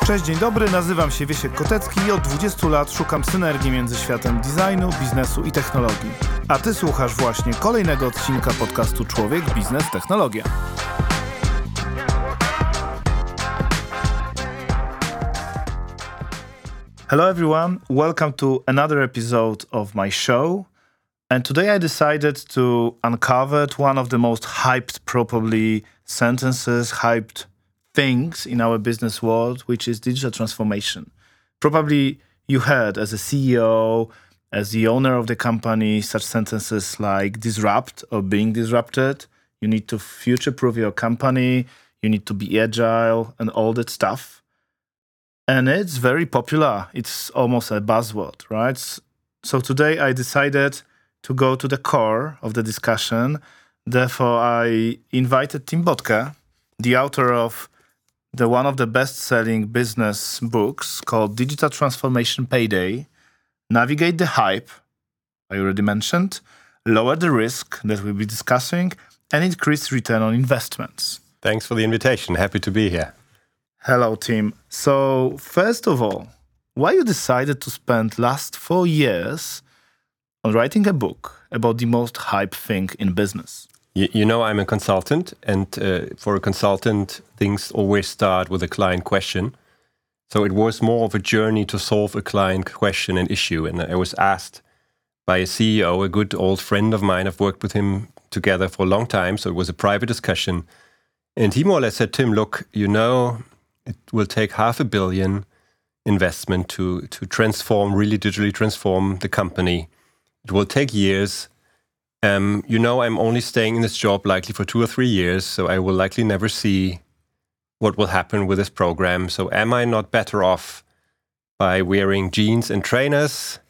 Cześć, dzień dobry, nazywam się Wiesiek Kotecki i od 20 lat szukam synergii między światem designu, biznesu i technologii. A ty słuchasz właśnie kolejnego odcinka podcastu Człowiek, Biznes, Technologia. Hello everyone, welcome to another episode of my show. And today I decided to uncover one of the most hyped probably sentences, hyped things in our business world, which is digital transformation. Probably you heard as a CEO, as the owner of the company, such sentences like disrupt or being disrupted. You need to future-proof your company. You need to be agile and all that stuff. And it's very popular. It's almost a buzzword, right? So today I decided to go to the core of the discussion. Therefore, I invited Tim Bottke, the author of one of the best-selling business books called Digital Transformation Payday, Navigate the Hype, I already mentioned, Lower the Risk that we'll be discussing, and Increase Return on Investments. Thanks for the invitation. Happy to be here. Hello, Tim. So, first of all, why you decided to spend last 4 years on writing a book about the most hype thing in business? You know, I'm a consultant, and for a consultant, things always start with a client question. So it was more of a journey to solve a client question and issue. And I was asked by a CEO, a good old friend of mine. I've worked with him together for a long time, so it was a private discussion. And he more or less said, Tim, look, you know, it will take $500 million investment to transform, really digitally transform the company. It will take years. You know, I'm only staying in this job likely for 2 or 3 years, so I will likely never see what will happen with this program. So am I not better off by wearing jeans and trainers,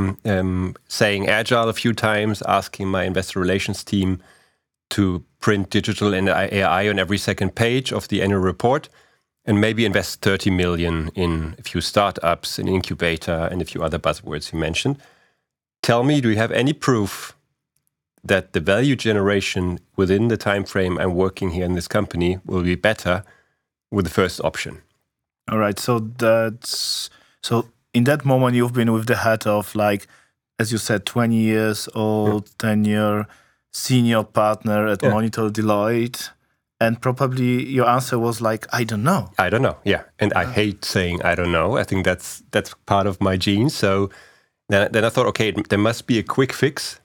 saying agile a few times, asking my investor relations team to print digital and AI on every second page of the annual report, and maybe invest 30 million in a few startups, an incubator, and a few other buzzwords you mentioned? Tell me, do you have any proof that the value generation within the time frame I'm working here in this company will be better with the first option? All right. So in that moment, you've been with the head of, like, as you said, 20 years old, tenure, senior partner at Monitor Deloitte. And probably your answer was like, I don't know. I don't know. Yeah. And I hate saying I don't know. I think that's part of my genes. So then I thought, okay, there must be a quick fix.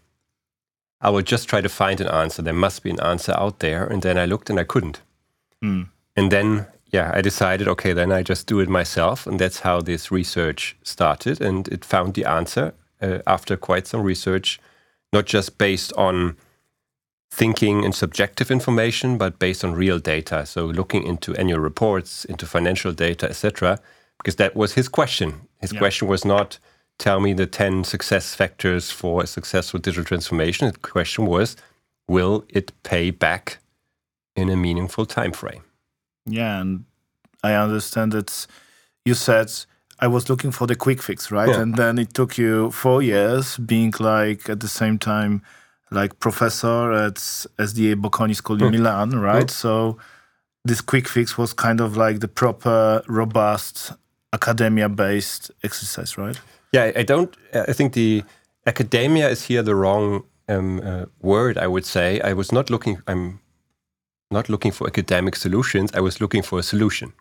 I will just try to find an answer. There must be an answer out there. And then I looked and I couldn't. And then, I decided, okay, then I just do it myself. And that's how this research started. And it found the answer after quite some research, not just based on thinking and subjective information, but based on real data. So looking into annual reports, into financial data, etc. Because that was his question. His question was not, tell me the 10 success factors for a successful digital transformation. The question was, will it pay back in a meaningful time frame? Yeah, and I understand that you said I was looking for the quick fix, right? Yeah. And then it took you 4 years being like at the same time like professor at SDA Bocconi School in Milan, right? So this quick fix was kind of like the proper, robust, academia-based exercise, right? Yeah, I think the academia is here the wrong word, I would say. I'm not looking for academic solutions. I was looking for a solution.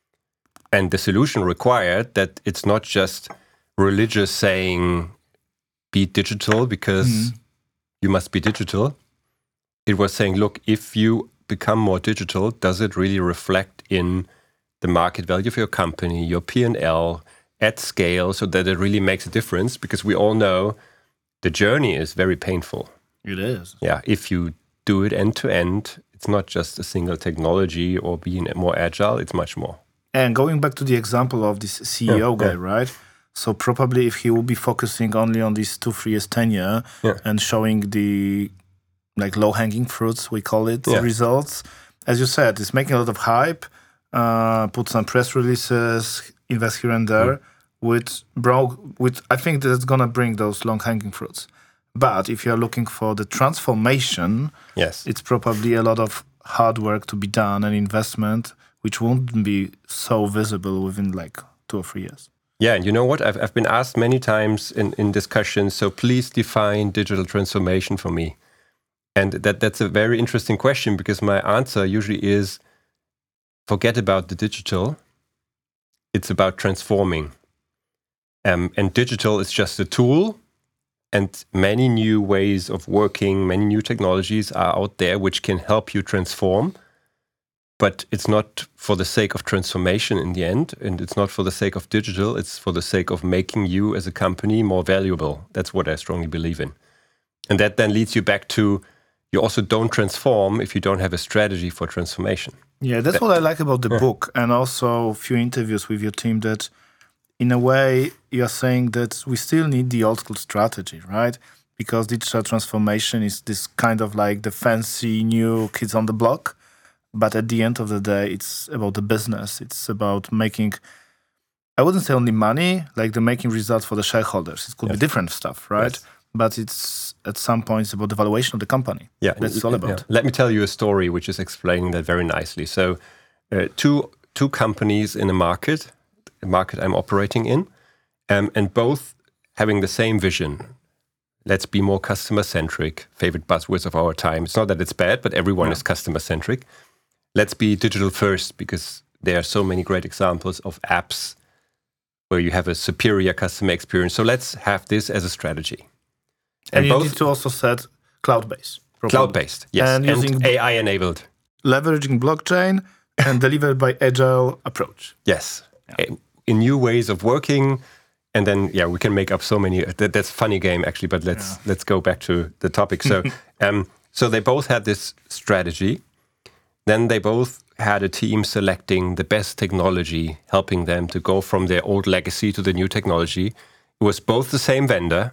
And the solution required that it's not just religious saying, be digital because you must be digital. It was saying, look, if you become more digital, does it really reflect in the market value of your company, your P&L, at scale, so that it really makes a difference? Because we all know the journey is very painful. It is. Yeah, if you do it end to end, it's not just a single technology or being more agile, it's much more. And going back to the example of this CEO guy, right? So probably if he will be focusing only on these 2-3 years tenure and showing the like low-hanging fruits, we call it, results, as you said, it's making a lot of hype, put some press releases, invest here and there, with I think that's gonna bring those long-hanging fruits. But if you're looking for the transformation, it's probably a lot of hard work to be done and investment which won't be so visible within like 2 or 3 years. Yeah, and you know what? I've been asked many times in discussions, so please define digital transformation for me. And that's a very interesting question, because my answer usually is, forget about the digital. It's about transforming. And digital is just a tool, and many new ways of working, many new technologies are out there which can help you transform. But it's not for the sake of transformation in the end, and it's not for the sake of digital, it's for the sake of making you as a company more valuable. That's what I strongly believe in. And that then leads you back to, you also don't transform if you don't have a strategy for transformation. Yeah, that's what I like about the book, and also a few interviews with your team, that in a way you are saying that we still need the old school strategy, right? Because digital transformation is this kind of like the fancy new kids on the block. But at the end of the day, it's about the business. It's about making, I wouldn't say only money, like the making results for the shareholders. It could be different stuff, right? Yes. But it's at some points about the valuation of the company. Yeah, that's all about. Yeah. Let me tell you a story which is explaining that very nicely. So two companies in a market I'm operating in, and both having the same vision. Let's be more customer-centric, favorite buzzwords of our time. It's not that it's bad, but everyone is customer-centric. Let's be digital first, because there are so many great examples of apps where you have a superior customer experience. So let's have this as a strategy. And you need to also set cloud-based. Cloud-based, yes. And using AI-enabled. Leveraging blockchain and delivered by agile approach. Yes. Yeah. In new ways of working. And then, we can make up so many. That's a funny game, actually, but let's go back to the topic. So, so they both had this strategy. Then they both had a team selecting the best technology, helping them to go from their old legacy to the new technology. It was both the same vendor.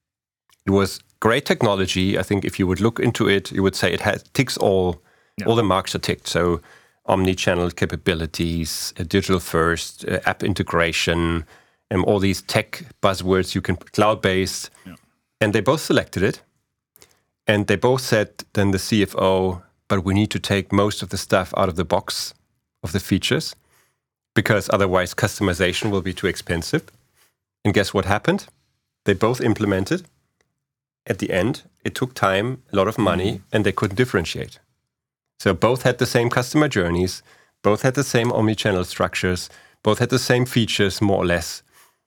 It was great technology. I think if you would look into it, you would say it ticks all the marks are ticked. So omni-channel capabilities, digital first, app integration, and all these tech buzzwords you can cloud-based. Yeah. And they both selected it. And they both said, then the CFO, but we need to take most of the stuff out of the box of the features, because otherwise customization will be too expensive. And guess what happened? They both implemented. At the end, it took time, a lot of money, and they couldn't differentiate. So both had the same customer journeys, both had the same omni-channel structures, both had the same features, more or less.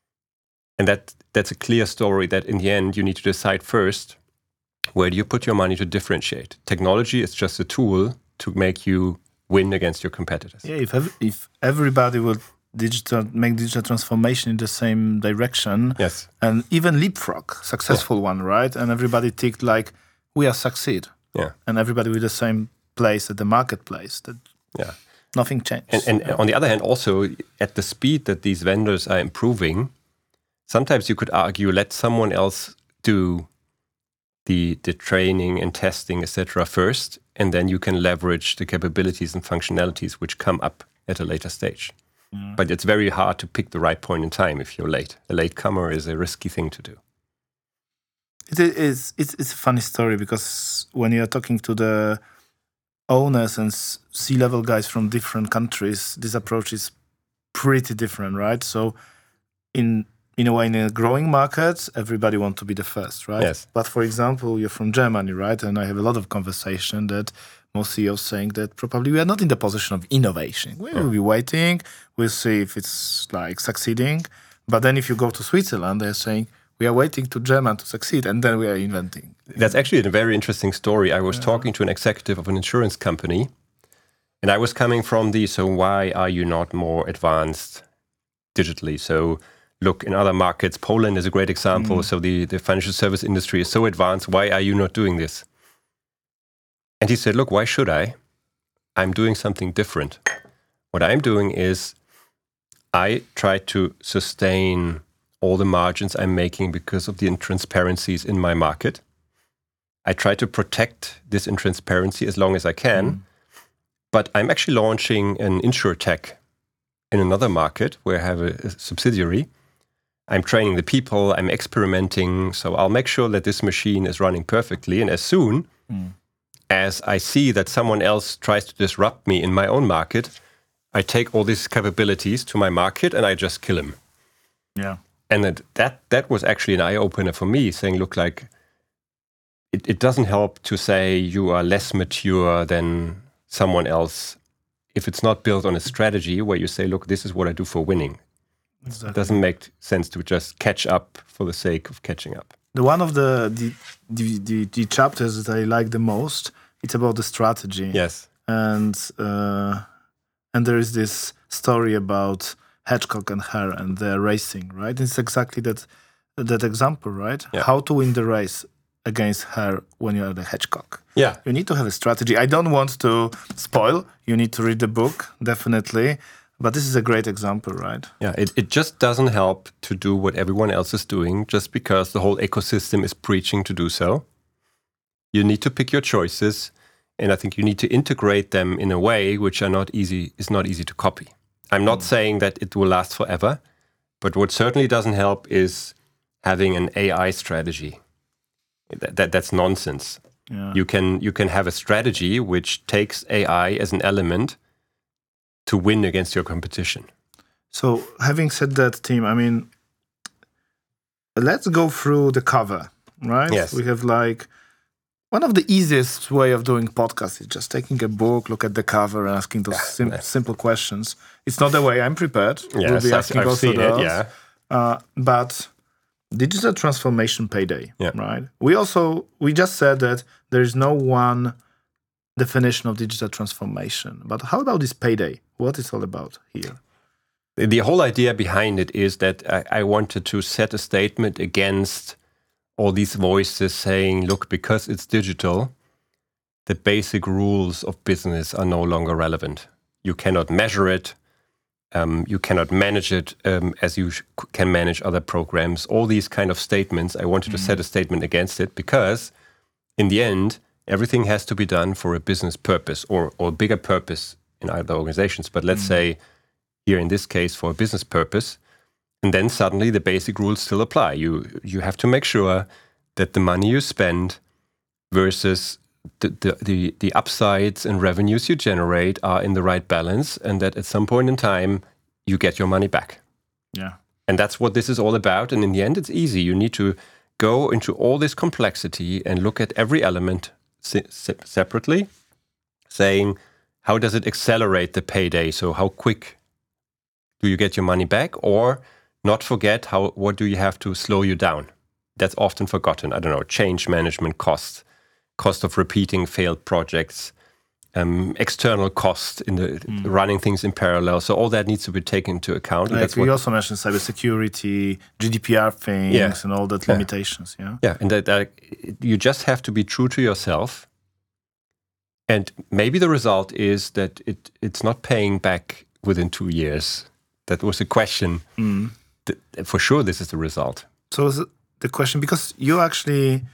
And that's a clear story that in the end, you need to decide first, where do you put your money to differentiate? Technology is just a tool to make you win against your competitors. Yeah, if everybody would make digital transformation in the same direction, and even leapfrog, successful one, right? And everybody ticked like, we are succeed. Yeah. And everybody with the same place at the marketplace. Nothing changed. And on the other hand, also at the speed that these vendors are improving, sometimes you could argue, let someone else do the training and testing, etc. first, and then you can leverage the capabilities and functionalities which come up at a later stage. Mm. But it's very hard to pick the right point in time if you're late. A latecomer is a risky thing to do. It's a funny story, because when you're talking to the owners and C-level guys from different countries, this approach is pretty different, right? So in a way, in a growing market, everybody wants to be the first, right? Yes. But for example, you're from Germany, right? And I have a lot of conversation that most CEOs saying that probably we are not in the position of innovation. We will be waiting. We'll see if it's like succeeding. But then if you go to Switzerland, they're saying, we are waiting to German to succeed, and then we are inventing. That's actually a very interesting story. I was talking to an executive of an insurance company, and I was coming from so why are you not more advanced digitally? So look, in other markets, Poland is a great example. So the financial service industry is so advanced. Why are you not doing this? And he said, look, why should I? I'm doing something different. What I'm doing is I try to sustain all the margins I'm making because of the intransparencies in my market. I try to protect this intransparency as long as I can. But I'm actually launching an InsurTech in another market where I have a subsidiary. I'm training the people, I'm experimenting, so I'll make sure that this machine is running perfectly. And as soon as I see that someone else tries to disrupt me in my own market, I take all these capabilities to my market and I just kill him. Yeah. And that was actually an eye-opener for me, saying, look, like, it doesn't help to say you are less mature than someone else if it's not built on a strategy where you say, look, this is what I do for winning. Exactly. It doesn't make sense to just catch up for the sake of catching up. One of the chapters that I like the most, it's about the strategy. Yes. And there is this story about Hedgehog and Hare and their racing, right? It's exactly that example, right? Yeah. How to win the race against Hare when you are the hedgehog. Yeah. You need to have a strategy. I don't want to spoil. You need to read the book, definitely. But this is a great example, right? Yeah, it just doesn't help to do what everyone else is doing just because the whole ecosystem is preaching to do so. You need to pick your choices, and I think you need to integrate them in a way which is not easy to copy. I'm not saying that it will last forever, but what certainly doesn't help is having an AI strategy. That's nonsense. Yeah. You can have a strategy which takes AI as an element to win against your competition. So having said that, Tim, I mean, let's go through the cover, right? Yes. We have like one of the easiest way of doing podcasts is just taking a book, look at the cover, and asking those simple questions. It's not the way I'm prepared. Yes, we'll be asking I've also seen those. it, yeah. But digital transformation payday, Yeah. right? We just said that there is no one definition of digital transformation. But how about this payday? What is all about here? The whole idea behind it is that I wanted to set a statement against all these voices saying, look, because it's digital, the basic rules of business are no longer relevant. You cannot measure it. You cannot manage it as you can manage other programs. All these kind of statements, I wanted to set a statement against it because in the end, everything has to be done for a business purpose or a bigger purpose in other organizations. But let's say here in this case for a business purpose, and then suddenly the basic rules still apply. You have to make sure that the money you spend versus the upsides and revenues you generate are in the right balance, and that at some point in time you get your money back. Yeah. And that's what this is all about. And in the end, it's easy. You need to go into all this complexity and look at every element separately, saying, how does it accelerate the payday? So how quick do you get your money back? Or not forget, what do you have to slow you down? That's often forgotten. I don't know, change management costs, cost of repeating failed projects, external costs in the running things in parallel. So all that needs to be taken into account. Like that's we also mentioned cybersecurity, GDPR things, and all that limitations. Yeah. Yeah, and that you just have to be true to yourself. And maybe the result is that it's not paying back within 2 years. That was a question. For sure, this is the result. So is it the question, because you actually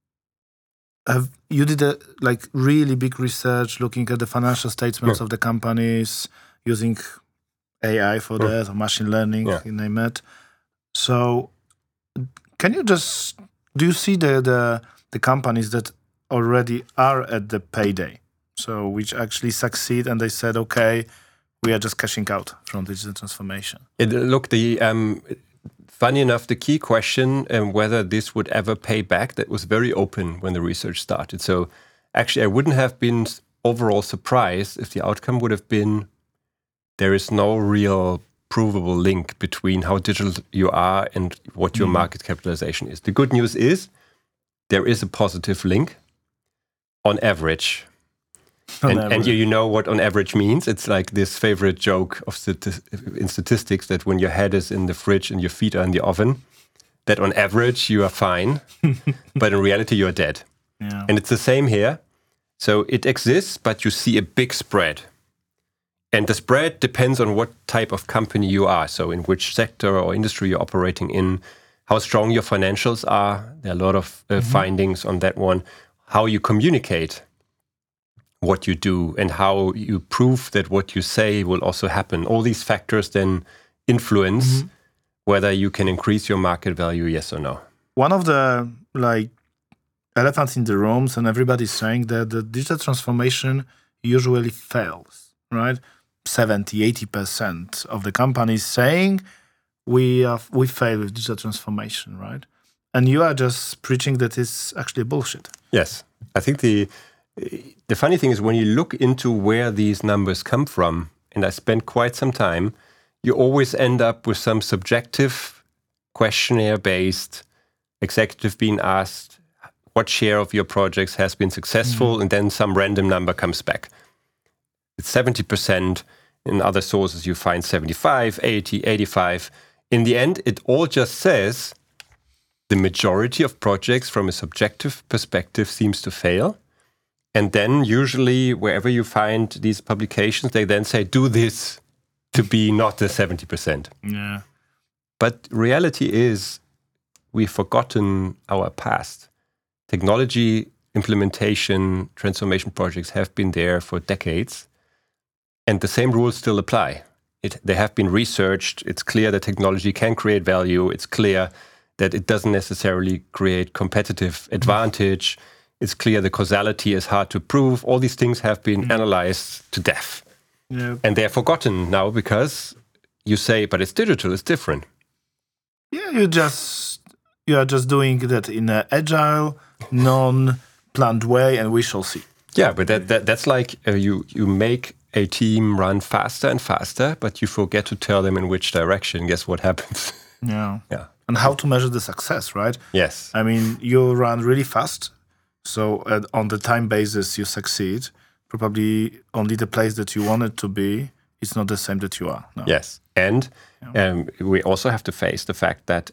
you did a really big research looking at the financial statements of the companies using AI for that, or machine learning, you name it. So can you do you see the companies that already are at the payday, so which actually succeed and they said, okay, we are just cashing out from digital transformation? Look, funny enough, the key question whether this would ever pay back, that was very open when the research started. So actually, I wouldn't have been overall surprised if the outcome would have been there is no real provable link between how digital you are and what your market capitalization is. The good news is there is a positive link on average. And you know what on average means. It's like this favorite joke in statistics that when your head is in the fridge and your feet are in the oven, that on average you are fine, but in reality you are dead. Yeah. And it's the same here. So it exists, but you see a big spread. And the spread depends on what type of company you are. So in which sector or industry you're operating in, how strong your financials are. There are a lot of findings on that one. How you communicate what you do and how you prove that what you say will also happen. All these factors then influence whether you can increase your market value, yes or no. One of the elephants in the rooms, and everybody's saying that the digital transformation usually fails, right? 70-80% of the companies saying we fail with digital transformation, right? And you are just preaching that it's actually bullshit. Yes. I think the funny thing is when you look into where these numbers come from, and I spent quite some time, you always end up with some subjective questionnaire-based executive being asked what share of your projects has been successful, and then some random number comes back. It's 70%. In other sources, you find 75, 80, 85. In the end, it all just says the majority of projects from a subjective perspective seems to fail. And then usually wherever you find these publications, they then say, do this to be not the 70%. Yeah. But reality is we've forgotten our past. Technology implementation, transformation projects have been there for decades. And the same rules still apply. They have been researched. It's clear that technology can create value. It's clear that it doesn't necessarily create competitive advantage. It's clear the causality is hard to prove. All these things have been analyzed to death. Yeah. And they're forgotten now because you say, but it's digital, it's different. Yeah, you are just doing that in an agile, non-planned way, and we shall see. Yeah, but that's like you make a team run faster and faster, but you forget to tell them in which direction. Guess what happens? Yeah. Yeah. And how to measure the success, right? Yes. I mean, you run really fast, so on the time basis you succeed. Probably only the place that you wanted to be is not the same that you are now. Yes, and we also have to face the fact that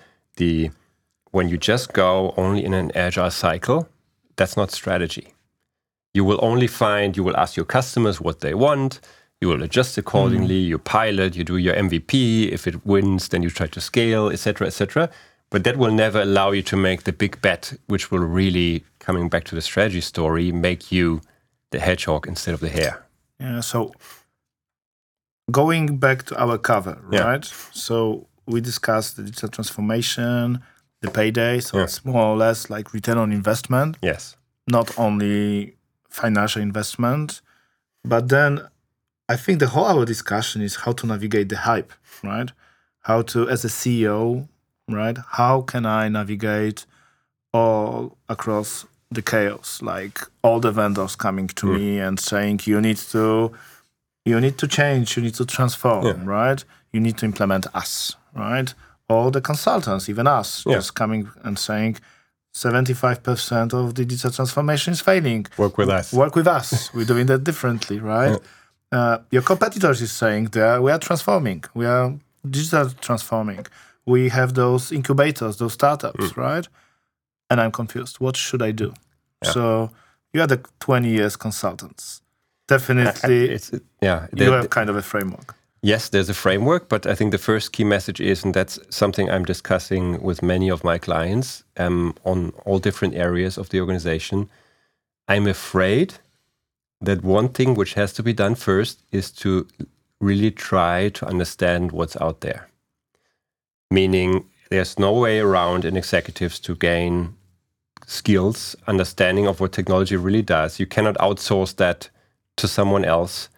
when you just go only in an agile cycle, that's not strategy. You will ask your customers what they want, you will adjust accordingly, you pilot, you do your MVP, if it wins, then you try to scale, etc., etc. But that will never allow you to make the big bet, which will really, coming back to the strategy story, make you the hedgehog instead of the hare. Yeah, so going back to our cover, right? So we discussed the digital transformation, the payday, so it's more or less like return on investment. Yes. Not only financial investment, but then I think the whole our discussion is how to navigate the hype, right? How to, as a CEO, right? How can I navigate all across the chaos, like all the vendors coming to me and saying you need to change, you need to transform, right? You need to implement us, right? All the consultants, even us, just coming and saying 75% of the digital transformation is failing. Work with us. Work with us. We're doing that differently, right? Your competitors is saying that we are transforming. We are digital transforming. We have those incubators, those startups, right? And I'm confused. What should I do? Yeah. So you are the 20 years consultants. Definitely, you have kind of a framework. Yes, there's a framework, but I think the first key message is, and that's something I'm discussing with many of my clients on all different areas of the organization, I'm afraid that one thing which has to be done first is to really try to understand what's out there. Meaning there's no way around in executives to gain skills, understanding of what technology really does. You cannot outsource that to someone else,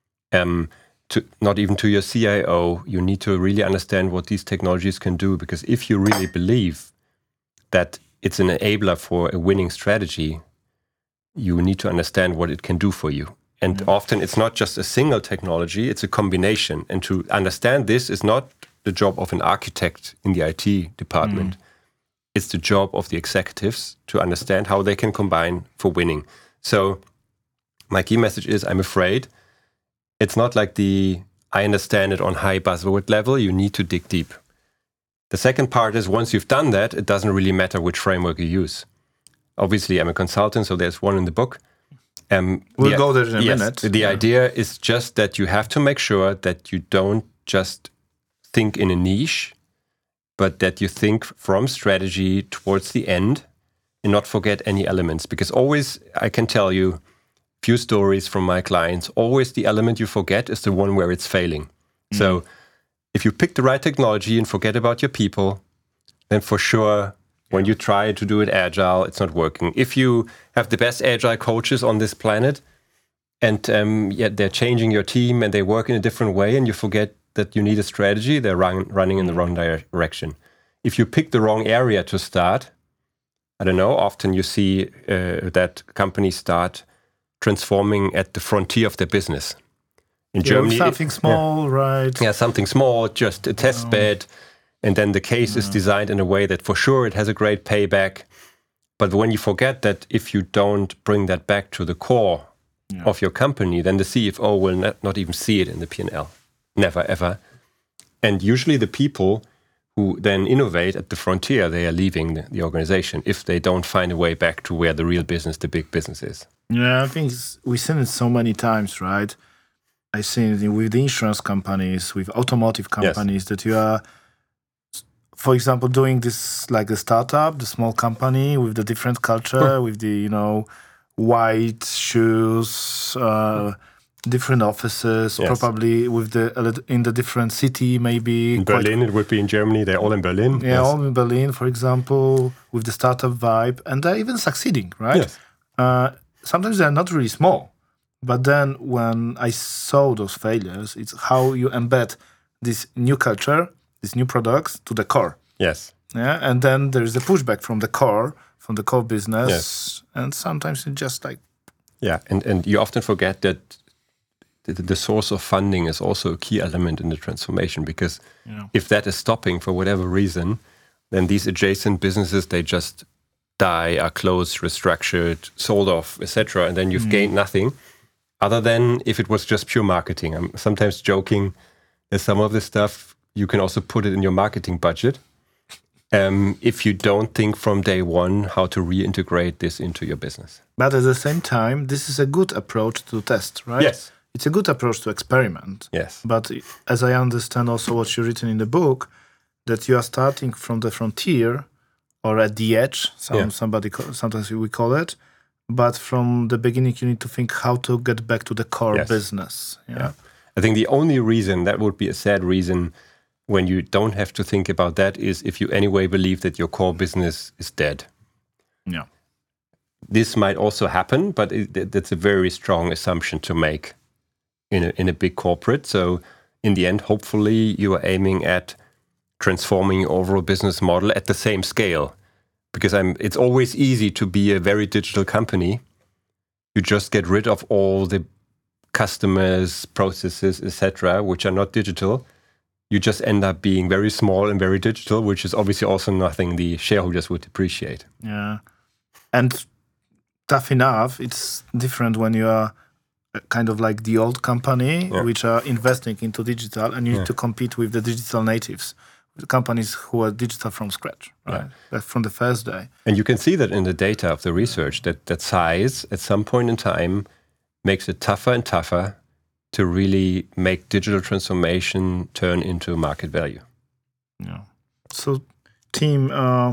not even to your CIO. You need to really understand what these technologies can do, because if you really believe that it's an enabler for a winning strategy, you need to understand what it can do for you. And often it's not just a single technology, it's a combination. And to understand this is not the job of an architect in the IT department. It's the job of the executives to understand how they can combine for winning. So my key message is, I'm afraid it's not like I understand it on high buzzword level. You need to dig deep. The second part is, once you've done that, it doesn't really matter which framework you use. Obviously, I'm a consultant, so there's one in the book. We'll go there in a minute. The idea is just that you have to make sure that you don't just think in a niche, but that you think from strategy towards the end and not forget any elements. Because always, I can tell you, few stories from my clients, always the element you forget is the one where it's failing. So if you pick the right technology and forget about your people, then for sure, when you try to do it agile, it's not working. If you have the best agile coaches on this planet and yet they're changing your team and they work in a different way, and you forget that you need a strategy. They're running in the wrong direction. If you pick the wrong area to start, I don't know, often you see that companies start transforming at the frontier of their business. In Germany, something small, right? Yeah, something small, just a test bed. And then the case is designed in a way that for sure it has a great payback. But when you forget that if you don't bring that back to the core of your company, then the CFO will not even see it in the P&L. Never, ever. And usually the people who then innovate at the frontier, they are leaving the organization if they don't find a way back to where the real business, the big business is. Yeah, I think we've seen it so many times, right? I've seen it with the insurance companies, with automotive companies, that you are, for example, doing this like a startup, the small company with the different culture, with the, white shoes, different offices, probably with in the different city, maybe. In Berlin, it would be in Germany. They're all in Berlin. Yeah, all in Berlin, for example, with the startup vibe. And they're even succeeding, right? Yes. Sometimes they're not really small. But then when I saw those failures, it's how you embed this new culture, these new products to the core. Yes. Yeah, and then there's a pushback from the core business. Yes. And sometimes it's just like... Yeah, and you often forget that the source of funding is also a key element in the transformation, because if that is stopping for whatever reason, then these adjacent businesses, they just die, are closed, restructured, sold off, etc. And then you've gained nothing. Other than if it was just pure marketing. I'm sometimes joking that some of this stuff, you can also put it in your marketing budget if you don't think from day one how to reintegrate this into your business. But at the same time, this is a good approach to test, right? Yes. It's a good approach to experiment. Yes. But as I understand also what you've written in the book, that you are starting from the frontier or at the edge, sometimes we call it, but from the beginning, you need to think how to get back to the core business. Yeah. I think the only reason, that would be a sad reason, when you don't have to think about that, is if you anyway believe that your core business is dead. Yeah. This might also happen, but that's a very strong assumption to make in a big corporate. So in the end, hopefully, you are aiming at transforming your overall business model at the same scale. Because it's always easy to be a very digital company. You just get rid of all the customers, processes, etc., which are not digital. You just end up being very small and very digital, which is obviously also nothing the shareholders would appreciate. Yeah. And tough enough, it's different when you are kind of like the old company, which are investing into digital, and you need to compete with the digital natives. The companies who are digital from scratch, right? From the first day. And you can see that in the data of the research, that size at some point in time makes it tougher and tougher to really make digital transformation turn into market value. Yeah. So, team,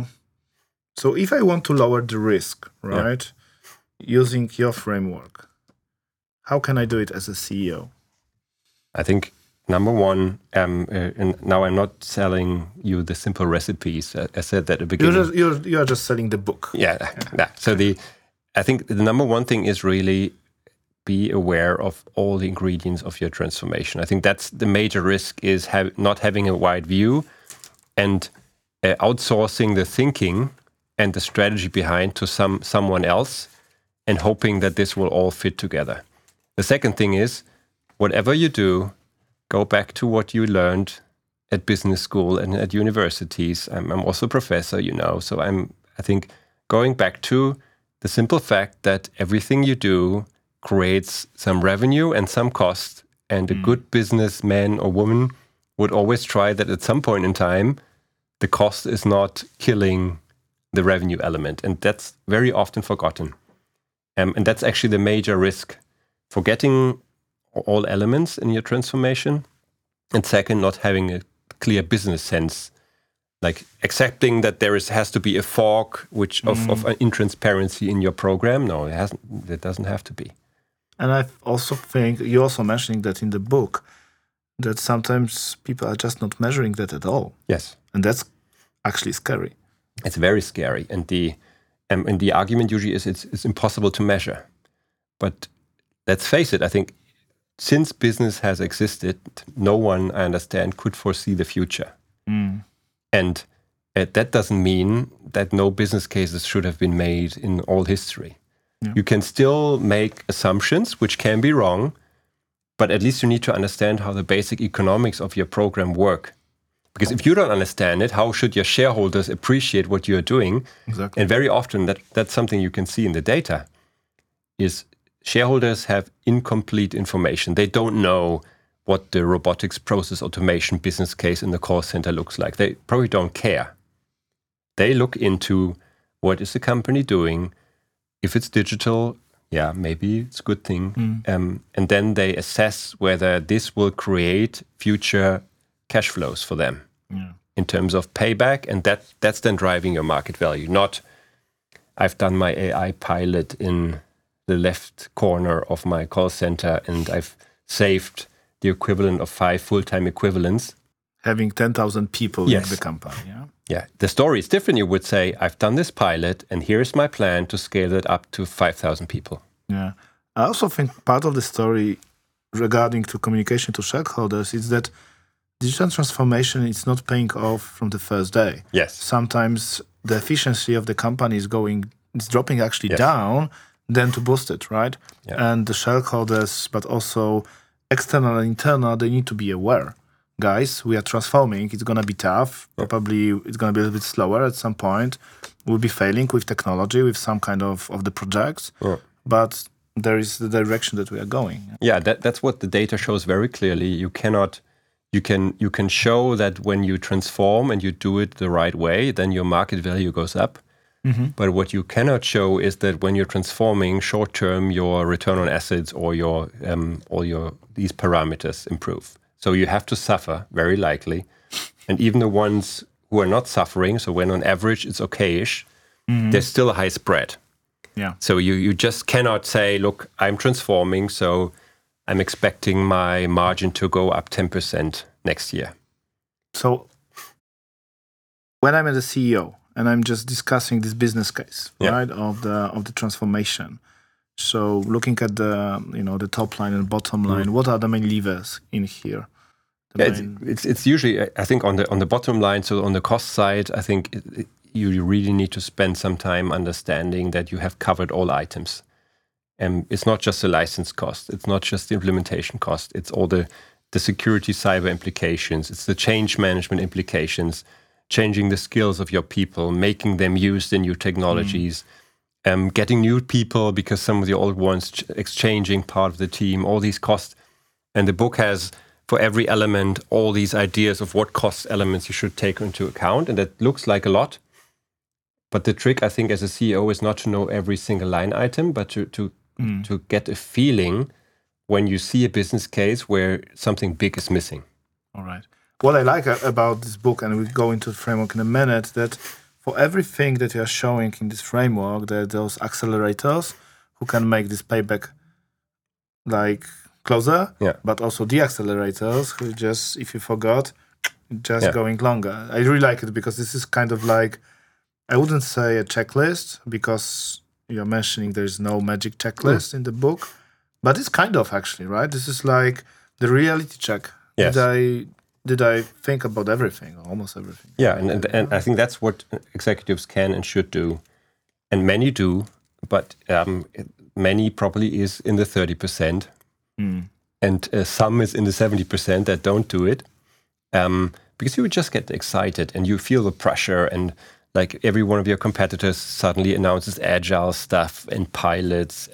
so if I want to lower the risk, right, using your framework, how can I do it as a CEO? I think number one, and now I'm not selling you the simple recipes. I said that at the beginning. You are just selling the book. Yeah. So I think the number one thing is really be aware of all the ingredients of your transformation. I think that's the major risk, is not having a wide view and outsourcing the thinking and the strategy behind to someone else and hoping that this will all fit together. The second thing is, whatever you do, go back to what you learned at business school and at universities. I'm also a professor, so I think going back to the simple fact that everything you do creates some revenue and some cost, and a good businessman or woman would always try that at some point in time, the cost is not killing the revenue element. And that's very often forgotten. And that's actually the major risk, forgetting all elements in your transformation. And second, not having a clear business sense, like accepting that has to be a fork of an intransparency in your program. No, it doesn't have to be. And I also think, you're also mentioning that in the book, that sometimes people are just not measuring that at all. Yes. And that's actually scary. It's very scary. And the argument usually is it's impossible to measure. But let's face it, I think since business has existed, no one, I understand, could foresee the future. And that doesn't mean that no business cases should have been made in all history. Yeah. You can still make assumptions, which can be wrong, but at least you need to understand how the basic economics of your program work. Because if you don't understand it, how should your shareholders appreciate what you're doing? Exactly. And very often that's something you can see in the data, is shareholders have incomplete information. They don't know what the robotics process automation business case in the call center looks like. They probably don't care. They look into what is the company doing. If it's digital, yeah, maybe it's a good thing. And then they assess whether this will create future cash flows for them in terms of payback. And that's then driving your market value. Not, I've done my AI pilot in the left corner of my call center and I've saved the equivalent of 5 full-time equivalents. Having 10,000 people in the company, Yeah, the story is different. You would say, I've done this pilot and here's my plan to scale it up to 5,000 people. Yeah. I also think part of the story regarding to communication to shareholders is that digital transformation is not paying off from the first day. Yes. Sometimes the efficiency of the company is dropping actually down than to boost it, right? Yeah. And the shareholders, but also external and internal, they need to be aware. Guys, we are transforming. It's going to be tough. Probably it's going to be a little bit slower at some point. We'll be failing with technology, with some kind of the projects. But there is the direction that we are going. Yeah, that's what the data shows very clearly. You can show that when you transform and you do it the right way, then your market value goes up. But what you cannot show is that when you're transforming short term, your return on assets or these parameters improve. So you have to suffer, very likely. And even the ones who are not suffering, so when on average it's okay-ish, there's still a high spread. Yeah. So you just cannot say, look, I'm transforming, so I'm expecting my margin to go up 10% next year. So when I'm the CEO and I'm just discussing this business case, right, of the transformation. So looking at the top line and bottom line, what are the main levers in here? It's usually, I think, on the bottom line. So on the cost side, I think you really need to spend some time understanding that you have covered all items. And it's not just the license cost. It's not just the implementation cost. It's all the security cyber implications. It's the change management implications, changing the skills of your people, making them use the new technologies, getting new people because some of the old ones exchanging part of the team, all these costs. And the book has, for every element, all these ideas of what cost elements you should take into account. And that looks like a lot. But the trick, I think, as a CEO is not to know every single line item, but to get a feeling when you see a business case where something big is missing. All right. What I like about this book, and we'll go into the framework in a minute, that for everything that you are showing in this framework, there are those accelerators who can make this payback like closer, but also the accelerators who just, if you forgot, just going longer. I really like it because this is kind of like, I wouldn't say a checklist because you're mentioning there's no magic checklist in the book, but it's kind of actually, right? This is like the reality check. Yes. Did I think about everything, almost everything? Yeah, and I think that's what executives can and should do. And many do, but many probably is in the 30%. And some is in the 70% that don't do it. Because you would just get excited and you feel the pressure, and like every one of your competitors suddenly announces agile stuff and pilots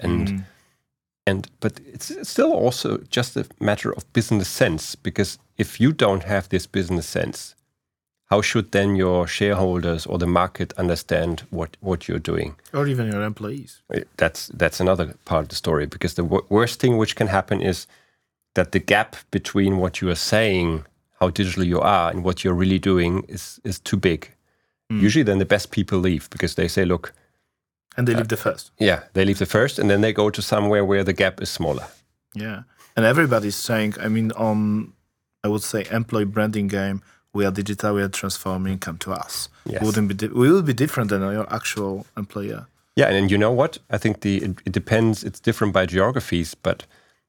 but it's still also just a matter of business sense, because if you don't have this business sense, how should then your shareholders or the market understand what you're doing? Or even your employees. That's another part of the story, because the worst thing which can happen is that the gap between what you are saying, how digital you are, and what you're really doing is too big. Usually then the best people leave because they say, look... And they leave the first. Yeah, they leave the first and then they go to somewhere where the gap is smaller. Yeah. And everybody's saying, I mean, I would say, employee branding game, we are digital, we are transforming, come to us. Yes. We will be different than your actual employer. Yeah, and you know what? I think it depends. It's different by geographies, but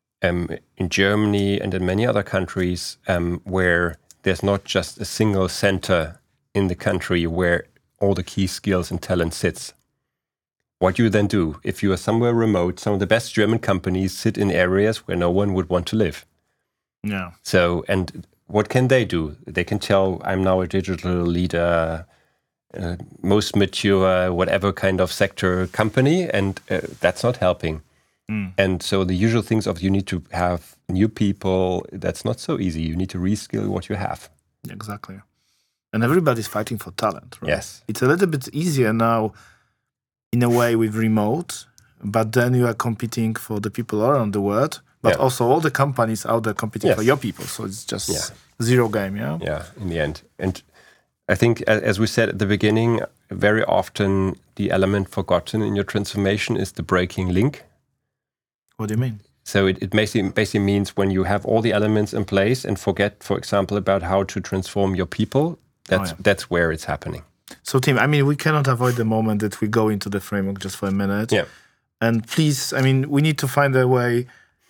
in Germany and in many other countries where there's not just a single center in the country where all the key skills and talent sits. What you then do, if you are somewhere remote, some of the best German companies sit in areas where no one would want to live. Yeah. So, and what can they do? They can tell, I'm now a digital leader, most mature, whatever kind of sector company, and that's not helping. And so the usual things of you need to have new people, that's not so easy. You need to reskill what you have. Exactly. And everybody's fighting for talent, right? Yes. It's a little bit easier now, in a way, with remote, but then you are competing for the people around the world, but also all the companies out there competing for your people. So it's just zero game, yeah? Yeah, in the end. And I think, as we said at the beginning, very often the element forgotten in your transformation is the breaking link. What do you mean? So it basically means when you have all the elements in place and forget, for example, about how to transform your people, that's where it's happening. So, Tim, I mean, we cannot avoid the moment that we go into the framework just for a minute. Yeah. And please, I mean, we need to find a way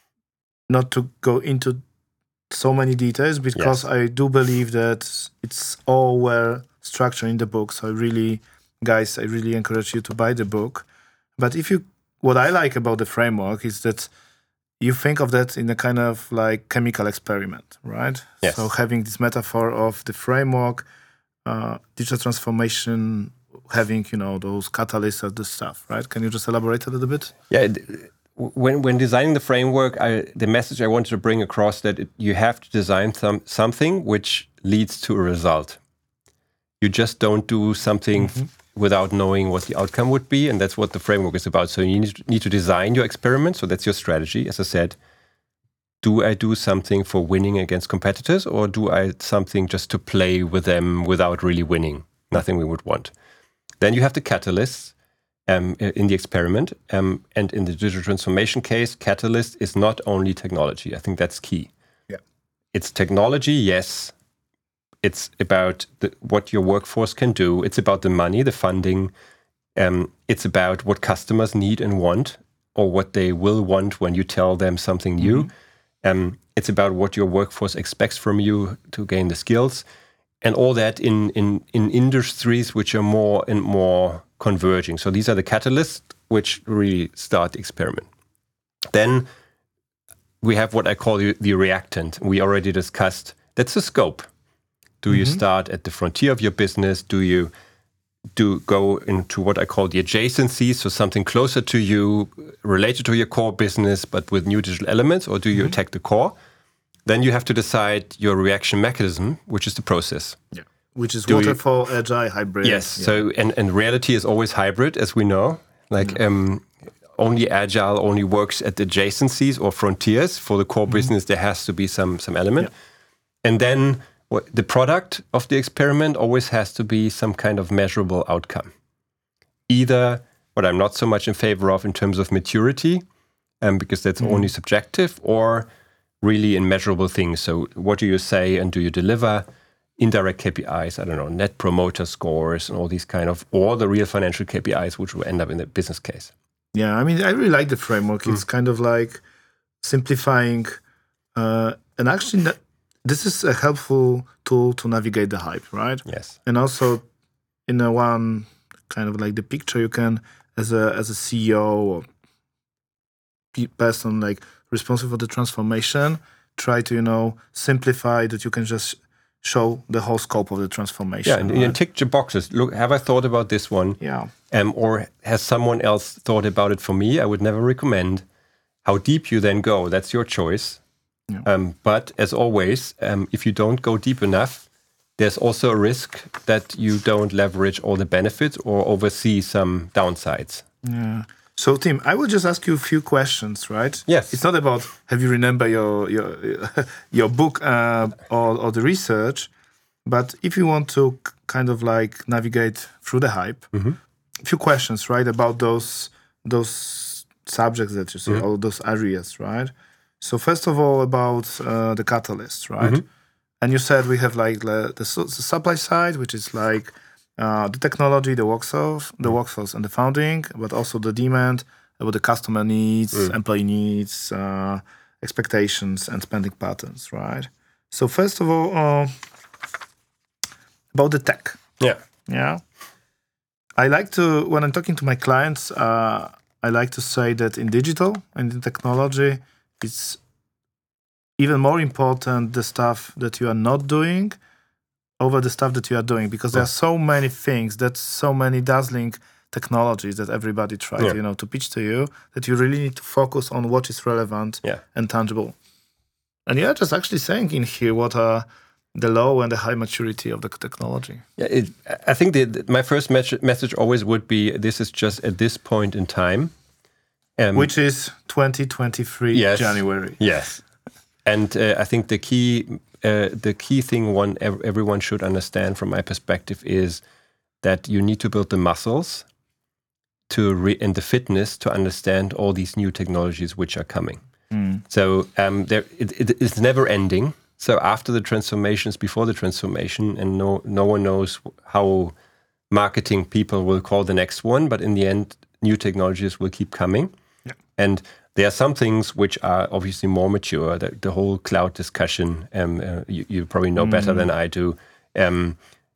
not to go into so many details because I do believe that it's all well structured in the book. So guys, I really encourage you to buy the book. But what I like about the framework is that you think of that in a kind of like chemical experiment, right? Yes. So having this metaphor of the framework, digital transformation, having, those catalysts of the stuff, right? Can you just elaborate a little bit? Yeah. When designing the framework, the message I wanted to bring across that you have to design something which leads to a result. You just don't do something without knowing what the outcome would be, and that's what the framework is about. So you need to design your experiment. So that's your strategy. As I said, do I do something for winning against competitors, or do I something just to play with them without really winning? Nothing we would want. Then you have the catalysts in the experiment. And in the digital transformation case, catalyst is not only technology. I think that's key. Yeah, it's technology, yes. It's about what your workforce can do. It's about the money, the funding. It's about what customers need and want, or what they will want when you tell them something new. It's about what your workforce expects from you to gain the skills, and all that in industries which are more and more converging. So these are the catalysts which really start the experiment. Then we have what I call the reactant. We already discussed. That's the scope. Do you start at the frontier of your business? Do you go into what I call the adjacencies, so something closer to you, related to your core business, but with new digital elements, or do you attack the core? Then you have to decide your reaction mechanism, which is the process. Yeah, which is waterfall, agile, hybrid. Yes. Yeah. So and reality is always hybrid, as we know. Like only agile only works at the adjacencies or frontiers. For the core business, there has to be some element, and then the product of the experiment always has to be some kind of measurable outcome. Either what I'm not so much in favor of in terms of maturity, because that's only subjective, or really in measurable things. So what do you say and do you deliver? Indirect KPIs, I don't know, net promoter scores and all these kind of, or the real financial KPIs, which will end up in the business case. Yeah, I mean, I really like the framework. It's kind of like simplifying, and actually this is a helpful tool to navigate the hype, right? Yes. And also, in a one kind of like the picture, you can, as a CEO or person like responsible for the transformation, try to simplify that you can just show the whole scope of the transformation. Yeah, and you tick your boxes. Look, have I thought about this one? Yeah. Or has someone else thought about it for me? I would never recommend. How deep you then go, that's your choice. Yeah. But as always, if you don't go deep enough, there's also a risk that you don't leverage all the benefits or oversee some downsides. Yeah. So, Tim, I will just ask you a few questions, right? Yes. It's not about have you remember your book or the research, but if you want to kind of like navigate through the hype, a few questions, right, about those subjects that you see, all those areas, right? So first of all, about the catalyst, right? And you said we have like the supply side, which is like the technology, the workforce and the founding, but also the demand, about the customer needs, employee needs, expectations, and spending patterns, right? So first of all, about the tech. Yeah. I like to, when I'm talking to my clients, I like to say that in digital and in technology, it's even more important the stuff that you are not doing over the stuff that you are doing, because there are so many things, that's so many dazzling technologies that everybody tries, to pitch to you, that you really need to focus on what is relevant and tangible. And you're just actually saying in here what are the low and the high maturity of the technology. Yeah, I think my first message always would be, this is just at this point in time. Which is 2023 January. Yes. And I think the key thing everyone should understand from my perspective is that you need to build the muscles and the fitness to understand all these new technologies which are coming. So it's never ending. So after the transformations, before the transformation, and no one knows how marketing people will call the next one, but in the end, new technologies will keep coming. Yeah. And there are some things which are obviously more mature. The whole cloud discussion, you probably know better than I do. And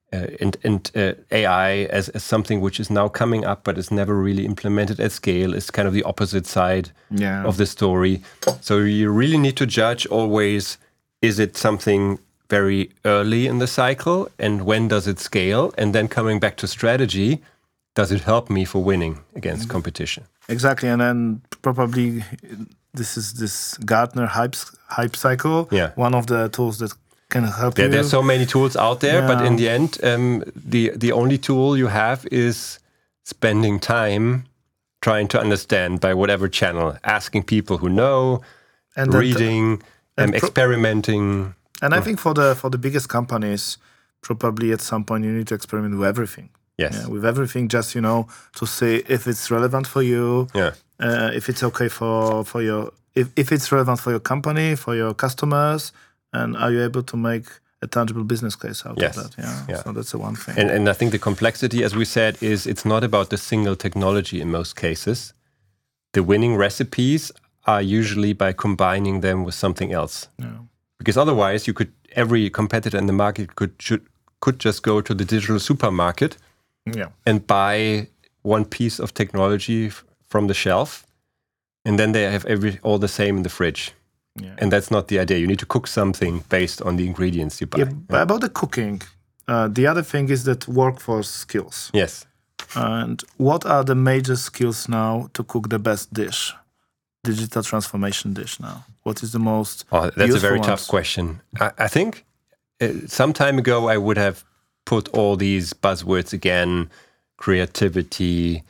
AI as something which is now coming up, but is never really implemented at scale, is kind of the opposite side of the story. So you really need to judge always, is it something very early in the cycle, and when does it scale? And then coming back to strategy, does it help me for winning against competition? Exactly, and then probably this is this Gartner hype cycle. Yeah. One of the tools that can help you. There's so many tools out there, but in the end, the only tool you have is spending time trying to understand by whatever channel, asking people who know, and reading, experimenting. And I think for the biggest companies, probably at some point you need to experiment with everything. Yes. Yeah, with everything, just to see if it's relevant for you. Yeah. If it's okay for your if it's relevant for your company, for your customers, and are you able to make a tangible business case out of that? Yeah. So that's the one thing. And I think the complexity, as we said, is it's not about the single technology in most cases. The winning recipes are usually by combining them with something else. Yeah. Because otherwise, every competitor in the market could just go to the digital supermarket and buy one piece of technology from the shelf, and then they have all the same in the fridge. Yeah. And that's not the idea. You need to cook something based on the ingredients you buy. Yeah, but about the cooking, the other thing is that workforce skills. Yes. And what are the major skills now to cook the best dish? Digital transformation dish now. What is the most that's a very tough question. I think some time ago I would have put all these buzzwords again: creativity,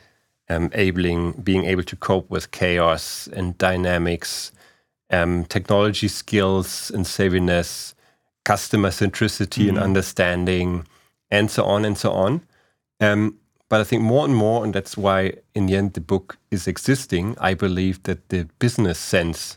being able to cope with chaos and dynamics, technology skills and savviness, customer centricity and understanding, and so on and so on. But I think more and more, and that's why in the end the book is existing, I believe that the business sense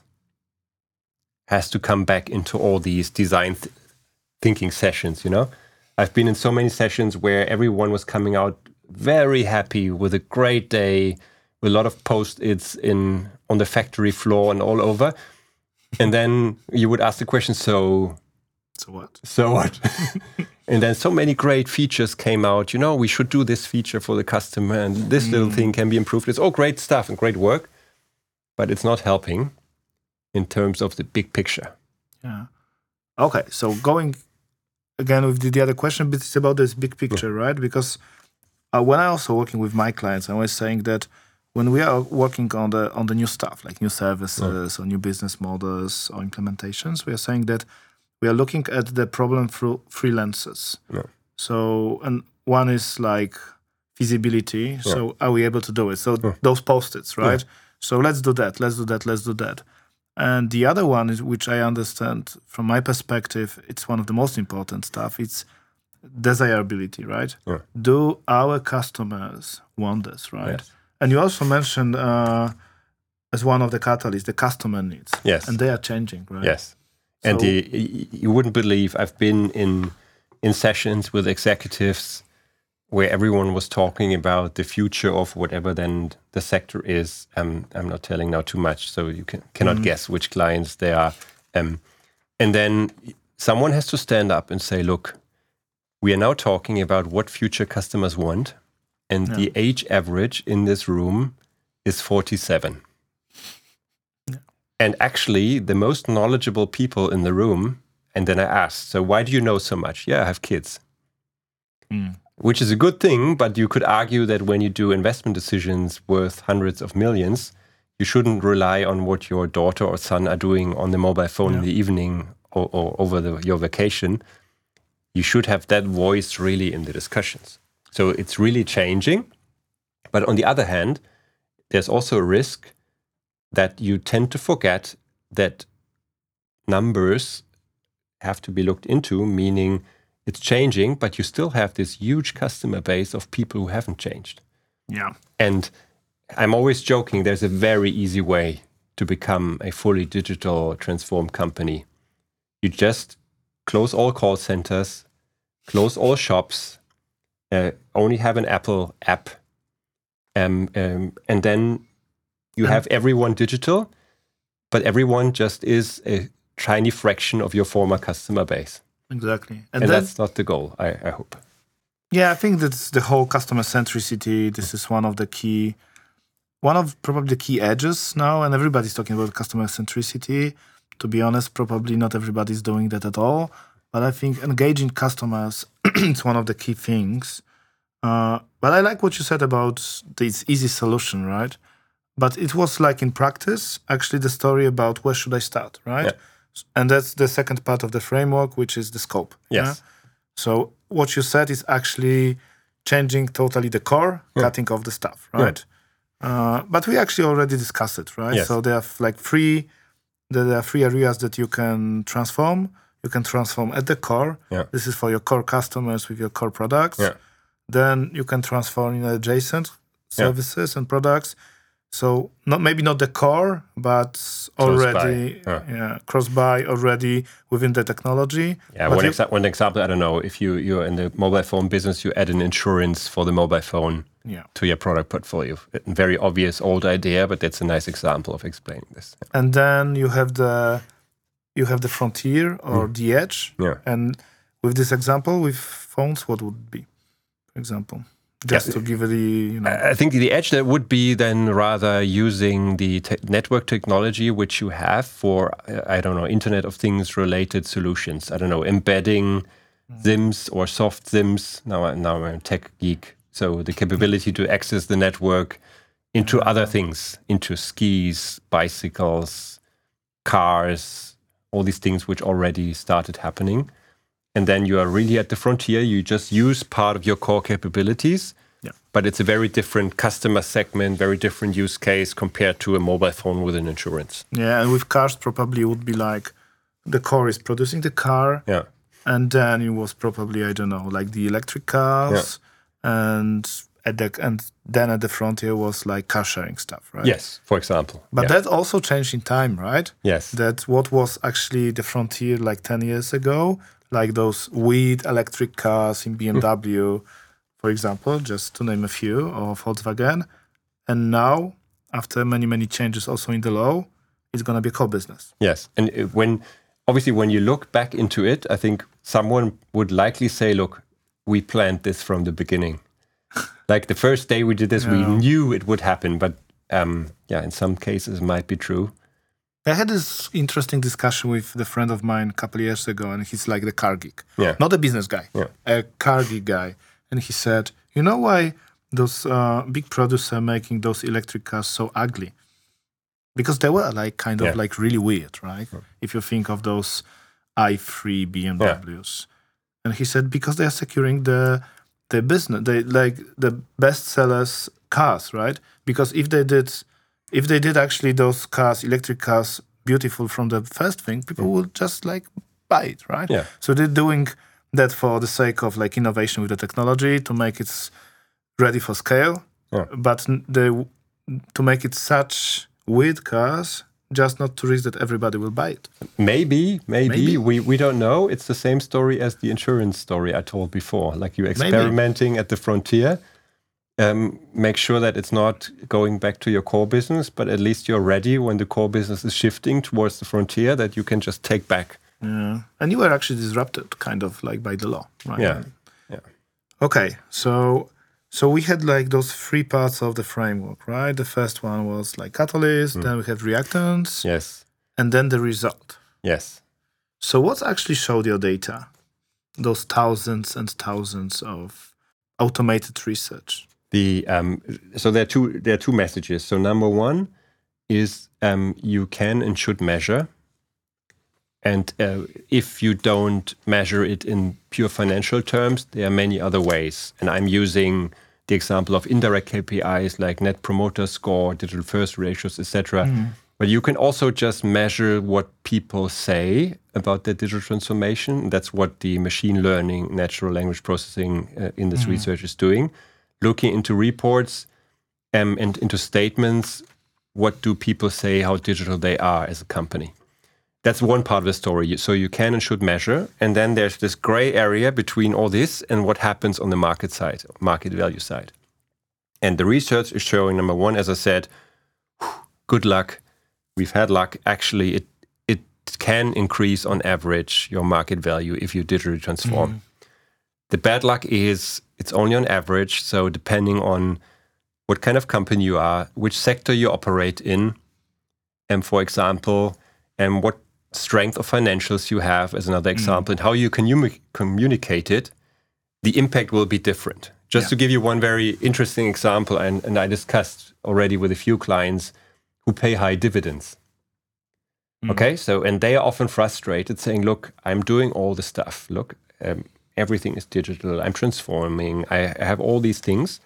has to come back into all these design thinking sessions, I've been in so many sessions where everyone was coming out very happy with a great day, with a lot of post-its on the factory floor and all over. And then you would ask the question, so what? So what? And then so many great features came out. We should do this feature for the customer, and this little thing can be improved. It's all great stuff and great work, but it's not helping in terms of the big picture. Yeah. Okay, so going again with the other question, but it's about this big picture, right? Because when I also working with my clients, I was saying that when we are working on the new stuff, like new services or new business models or implementations, we are saying that we are looking at the problem through three lenses. Yeah. So, and one is like feasibility. Yeah. So are we able to do it? So those post-its, right? Yeah. So let's do that, let's do that, let's do that. And the other one is, which I understand from my perspective, it's one of the most important stuff. It's desirability, right? Yeah. Do our customers want this, right? Yes. And you also mentioned as one of the catalysts, the customer needs. Yes. And they are changing, right? Yes. So, and you wouldn't believe, I've been in sessions with executives where everyone was talking about the future of whatever then the sector is. I'm not telling now too much, so you cannot guess which clients they are. And then someone has to stand up and say, look, we are now talking about what future customers want, and the age average in this room is 47. Yeah. And actually, the most knowledgeable people in the room, and then I asked, so why do you know so much? Yeah, I have kids. Which is a good thing, but you could argue that when you do investment decisions worth hundreds of millions, you shouldn't rely on what your daughter or son are doing on the mobile phone in the evening or over your vacation. You should have that voice really in the discussions. So it's really changing. But on the other hand, there's also a risk that you tend to forget that numbers have to be looked into, meaning it's changing, but you still have this huge customer base of people who haven't changed. Yeah. And I'm always joking, there's a very easy way to become a fully digital transformed company. You just close all call centers, close all shops, only have an Apple app, and then you have everyone digital, but everyone just is a tiny fraction of your former customer base. Exactly. And that's not the goal, I hope. Yeah, I think that's the whole customer centricity. This is one of probably the key edges now, and everybody's talking about customer centricity. To be honest, probably not everybody's doing that at all. But I think engaging customers is one of the key things. But I like what you said about this easy solution, right? But it was like in practice, actually the story about where should I start, right? Yeah. And that's the second part of the framework, which is the scope. Yes. Yeah? So what you said is actually changing totally the core, cutting off the stuff, right? Yeah. But we actually already discussed it, right? Yes. So there are like three areas that you can transform. You can transform at the core. Yeah. This is for your core customers with your core products. Yeah. Then you can transform in adjacent services and products. So maybe not the core, but already cross-buy already within the technology. Yeah, one example, I don't know, if you're in the mobile phone business, you add an insurance for the mobile phone to your product portfolio. Very obvious old idea, but that's a nice example of explaining this. And then you have the frontier or the edge. Yeah. And with this example, with phones, what would it be, for example? Just to give it I think the edge that would be then rather using the network technology which you have for, Internet of Things related solutions. I don't know, embedding SIMs or soft SIMs. Now I'm a tech geek. So the capability to access the network into other things, into skis, bicycles, cars, all these things which already started happening. And then you are really at the frontier. You just use part of your core capabilities, but it's a very different customer segment, very different use case compared to a mobile phone with an insurance. Yeah, and with cars, probably it would be like the core is producing the car, and then it was probably, like the electric cars, and then at the frontier was like car sharing stuff, right? Yes, for example. But that also changed in time, right? Yes. That what was actually the frontier like 10 years ago, like those weird electric cars in BMW, for example, just to name a few, or Volkswagen. And now, after many, many changes also in the law, it's going to be a core business. Yes. And when you look back into it, I think someone would likely say, look, we planned this from the beginning. Like the first day we did this, we knew it would happen. But in some cases it might be true. I had this interesting discussion with a friend of mine a couple of years ago, and he's like the car geek. Yeah. Not a business guy, a car geek guy. And he said, you know why those big producers are making those electric cars so ugly? Because they were like kind of like really weird, right? Yeah. If you think of those i3 BMWs. And he said, because they are securing the business, they like the best sellers cars, right? Because if they did actually those cars, electric cars, beautiful from the first thing, people would just like buy it, right? Yeah. So they're doing that for the sake of like innovation with the technology to make it ready for scale. Yeah. But to make it such weird cars just not to risk that everybody will buy it. Maybe. We don't know. It's the same story as the insurance story I told before. Like you're experimenting at the frontier. Make sure that it's not going back to your core business, but at least you're ready when the core business is shifting towards the frontier that you can just take back. Yeah. And you were actually disrupted kind of like by the law, right? Yeah. Okay, so we had like those three parts of the framework, right? The first one was like catalyst, then we have reactants, Yes. and then the result. Yes. So what actually showed your data? Those thousands and thousands of automated research. So there are two messages. So number one is you can and should measure. And if you don't measure it in pure financial terms, there are many other ways. And I'm using the example of indirect KPIs like net promoter score, digital first ratios, etc. But you can also just measure what people say about their digital transformation. That's what the machine learning, natural language processing in this research is doing. Looking into reports and into statements, what do people say, how digital they are as a company? That's one part of the story. So you can and should measure. And then there's this gray area between all this and what happens on the market side, market value side. And the research is showing, number one, as I said, good luck. We've had luck. Actually, it can increase on average your market value if you digitally transform. The bad luck is it's only on average. So depending on what kind of company you are, which sector you operate in, and for example, and what strength of financials you have as another example, and how you can communicate it, the impact will be different. Just to give you one very interesting example, and I discussed already with a few clients who pay high dividends. Okay, so, and they are often frustrated saying, look, I'm doing all the stuff. Look, everything is digital. I'm transforming. I have all these things.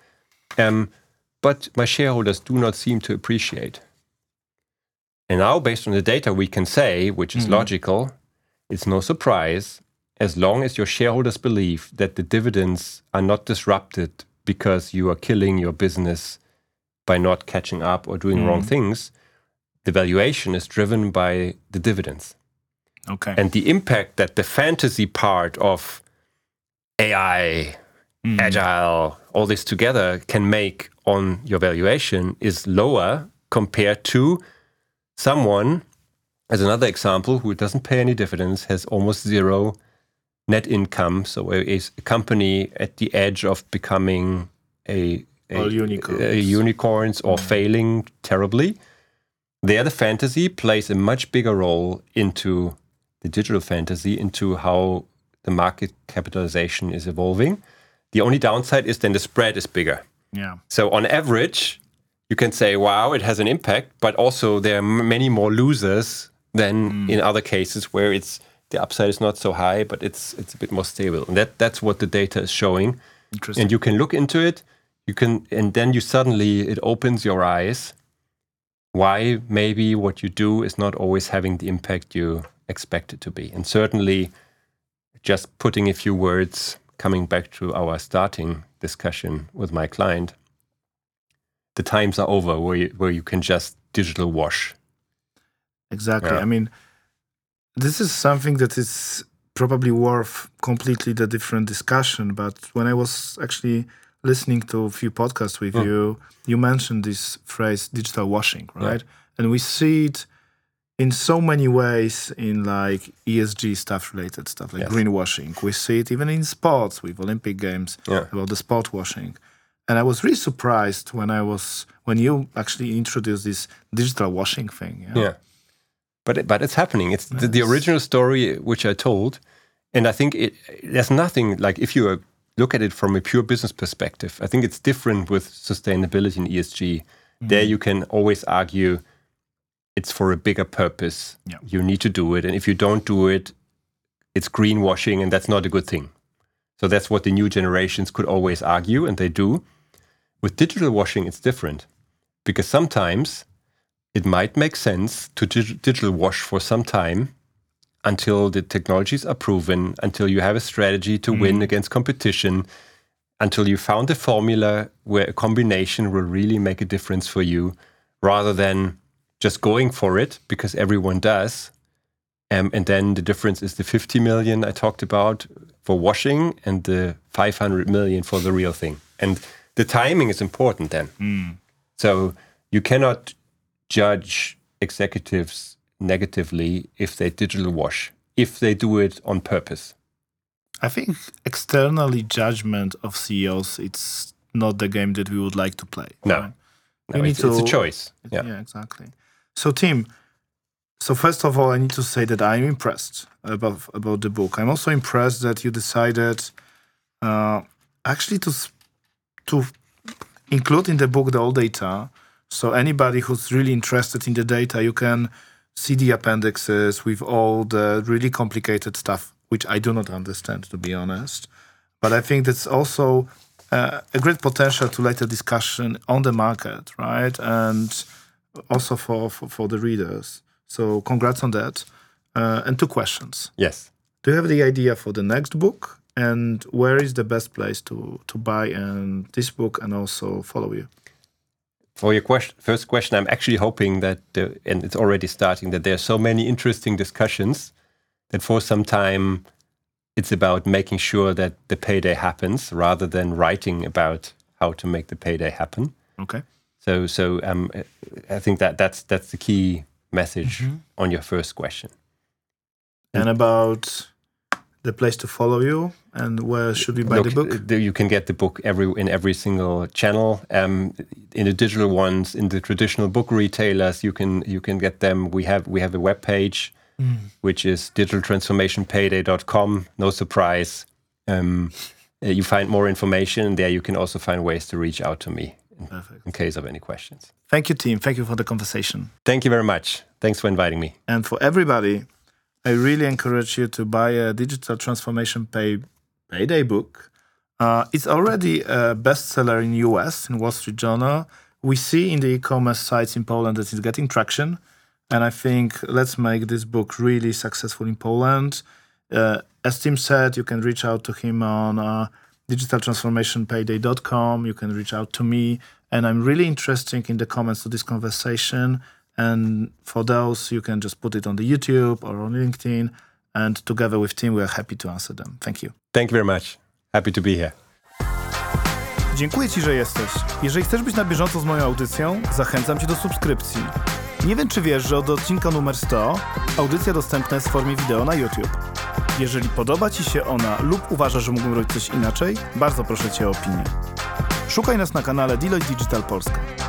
But my shareholders do not seem to appreciate. And now, based on the data, we can say, which is logical, it's no surprise, as long as your shareholders believe that the dividends are not disrupted because you are killing your business by not catching up or doing wrong things, the valuation is driven by the dividends. Okay. And the impact that the fantasy part of AI, agile, all this together can make on your valuation is lower compared to someone, as another example, who doesn't pay any dividends, has almost zero net income, so is a company at the edge of becoming a unicorns or failing terribly. There, the fantasy plays a much bigger role into the digital fantasy, into how the market capitalization is evolving. The only downside is then the spread is bigger. Yeah. So on average, you can say, wow, it has an impact, but also there are many more losers than in other cases where the upside is not so high, but it's a bit more stable. And that's what the data is showing. Interesting. And you can look into it, and then it opens your eyes why maybe what you do is not always having the impact you expect it to be. And certainly just putting a few words, coming back to our starting discussion with my client, the times are over where you can just digital wash. Exactly. I mean, this is something that is probably worth completely the different discussion. But when I was actually listening to a few podcasts with you, you mentioned this phrase, digital washing, right? Yeah. And we see it in so many ways in like ESG stuff related stuff, like greenwashing. We see it even in sports with Olympic Games about the sport washing. And I was really surprised when you actually introduced this digital washing thing. Yeah. But it's happening. It's the original story which I told. And I think there's nothing, like if you look at it from a pure business perspective, I think it's different with sustainability and ESG. There you can always argue it's for a bigger purpose. Yeah. You need to do it. And if you don't do it, it's greenwashing, and that's not a good thing. So that's what the new generations could always argue, and they do. With digital washing, it's different. Because sometimes it might make sense to digital wash for some time until the technologies are proven, until you have a strategy to win against competition, until you found a formula where a combination will really make a difference for you, rather than just going for it because everyone does. And then the difference is the 50 million I talked about for washing and the 500 million for the real thing. And the timing is important then. So you cannot judge executives negatively if they digital wash, if they do it on purpose. I think externally judgment of CEOs, it's not the game that we would like to play. No, right? no, it's a choice. Yeah, exactly. So Tim, so first of all, I need to say that I'm impressed about the book. I'm also impressed that you decided actually to include in the book the all data. So anybody who's really interested in the data, you can see the appendixes with all the really complicated stuff, which I do not understand, to be honest. But I think that's also a great potential to later discussion on the market, right? And also for the readers. So congrats on that. And 2 questions. Yes. Do you have the idea for the next book? And where is the best place to buy this book and also follow you? For your first question, I'm actually hoping that, and it's already starting, that there are so many interesting discussions that for some time it's about making sure that the payday happens rather than writing about how to make the payday happen. Okay. So I think that's the key message on your first question. And about the place to follow you and where should we buy the book? You can get the book in every single channel. In the digital ones, in the traditional book retailers, you can get them. We have a webpage, which is digitaltransformationpayday.com. No surprise. You find more information there. You can also find ways to reach out to me in case of any questions. Thank you, Tim. Thank you for the conversation. Thank you very much. Thanks for inviting me. And for everybody, I really encourage you to buy a Digital Transformation Payday book. It's already a bestseller in US, in Wall Street Journal. We see in the e-commerce sites in Poland that it's getting traction. And I think let's make this book really successful in Poland. As Tim said, you can reach out to him on digitaltransformationpayday.com. You can reach out to me. And I'm really interested in the comments to this conversation. And for those, you can just put it on the YouTube or on LinkedIn. And together with Tim, we are happy to answer them. Thank you. Thank you very much. Happy to be here. Dziękuję Ci, że jesteś. Jeżeli chcesz być na bieżąco z moją audycją, zachęcam Cię do subskrypcji. Nie wiem, czy wiesz, że od odcinka numer 100 audycja dostępna jest w formie wideo na YouTube. Jeżeli podoba Ci się ona lub uważasz, że mógłbym robić coś inaczej, bardzo proszę Cię o opinię. Szukaj nas na kanale Deloitte Digital Polska.